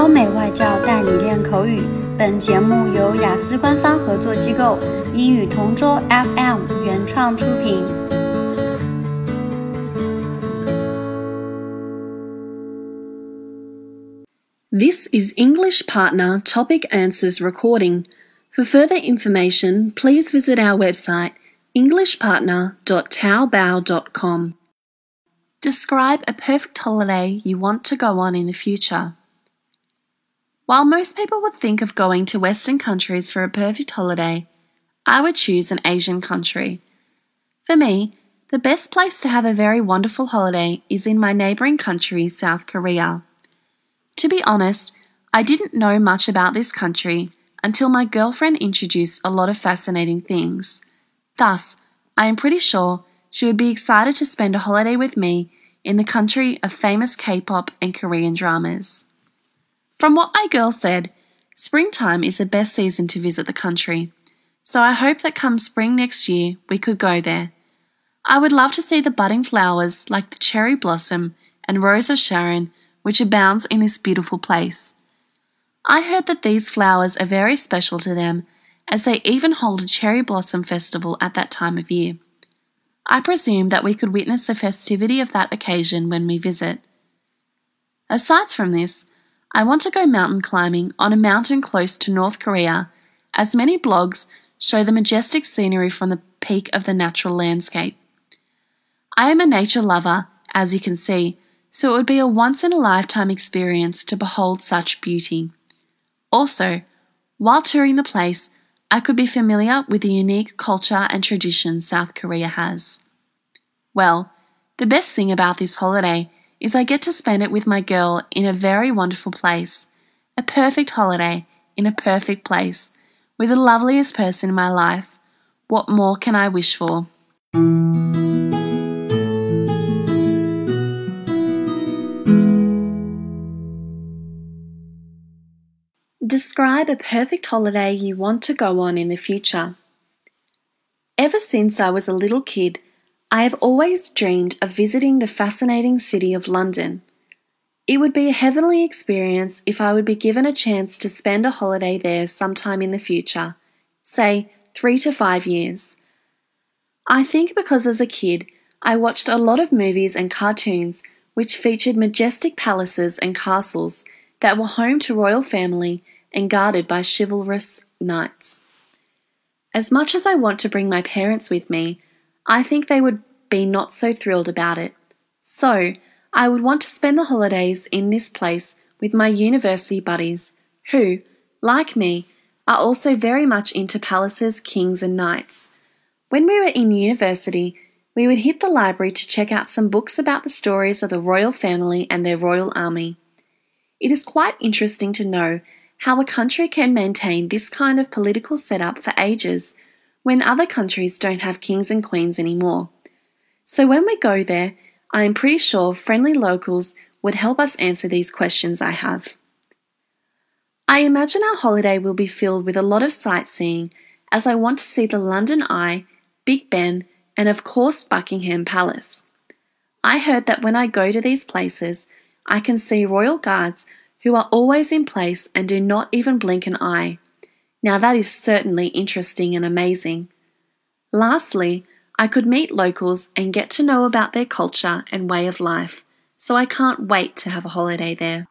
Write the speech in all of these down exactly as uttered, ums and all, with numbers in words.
欧美外教带你练口语。本节目由雅思官方合作机构英语同桌 F M 原创出品。 This is English Partner Topic Answers recording. For further information, please visit our website english partner dot taobao dot com. Describe a perfect holiday you want to go on in the future. While most people would think of going to Western countries for a perfect holiday, I would choose an Asian country. For me, the best place to have a very wonderful holiday is in my neighbouring country, South Korea. To be honest, I didn't know much about this country until my girlfriend introduced a lot of fascinating things. Thus, I am pretty sure she would be excited to spend a holiday with me in the country of famous K-pop and Korean dramas. From what my girl said, springtime is the best season to visit the country, so I hope that come spring next year we could go there. I would love to see the budding flowers like the cherry blossom and rose of Sharon, which abounds in this beautiful place. I heard that these flowers are very special to them, as they even hold a cherry blossom festival at that time of year. I presume that we could witness the festivity of that occasion when we visit. Aside from this, I want to go mountain climbing on a mountain close to North Korea, as many blogs show the majestic scenery from the peak of the natural landscape. I am a nature lover, as you can see, so it would be a once-in-a-lifetime experience to behold such beauty. Also, while touring the place, I could be familiar with the unique culture and traditions South Korea has. Well, the best thing about this holiday is I get to spend it with my girl in a very wonderful place, a perfect holiday in a perfect place, with the loveliest person in my life. What more can I wish for? Describe a perfect holiday you want to go on in the future. Ever since I was a little kid, I have always dreamed of visiting the fascinating city of London. It would be a heavenly experience if I would be given a chance to spend a holiday there sometime in the future, say three to five years. I think because as a kid, I watched a lot of movies and cartoons which featured majestic palaces and castles that were home to royal family and guarded by chivalrous knights. As much as I want to bring my parents with me, I think they would be not so thrilled about it. So, I would want to spend the holidays in this place with my university buddies, who, like me, are also very much into palaces, kings and knights. When we were in university, we would hit the library to check out some books about the stories of the royal family and their royal army. It is quite interesting to know how a country can maintain this kind of political setup for ages when other countries don't have kings and queens anymore. So when we go there, I am pretty sure friendly locals would help us answer these questions I have. I imagine our holiday will be filled with a lot of sightseeing, as I want to see the London Eye, Big Ben, and of course Buckingham Palace. I heard that when I go to these places, I can see royal guards who are always in place and do not even blink an eye. Now that is certainly interesting and amazing. Lastly, I could meet locals and get to know about their culture and way of life, so I can't wait to have a holiday there.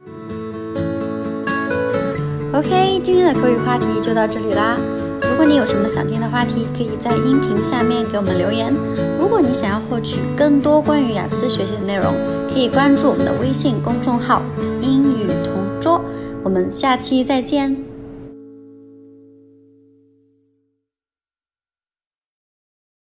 OK， 今天的口语话题就到这里啦。如果你有什么想听的话题，可以在音频下面给我们留言。如果你想要获取更多关于雅思学习的内容，可以关注我们的微信公众号英语同桌。我们下期再见。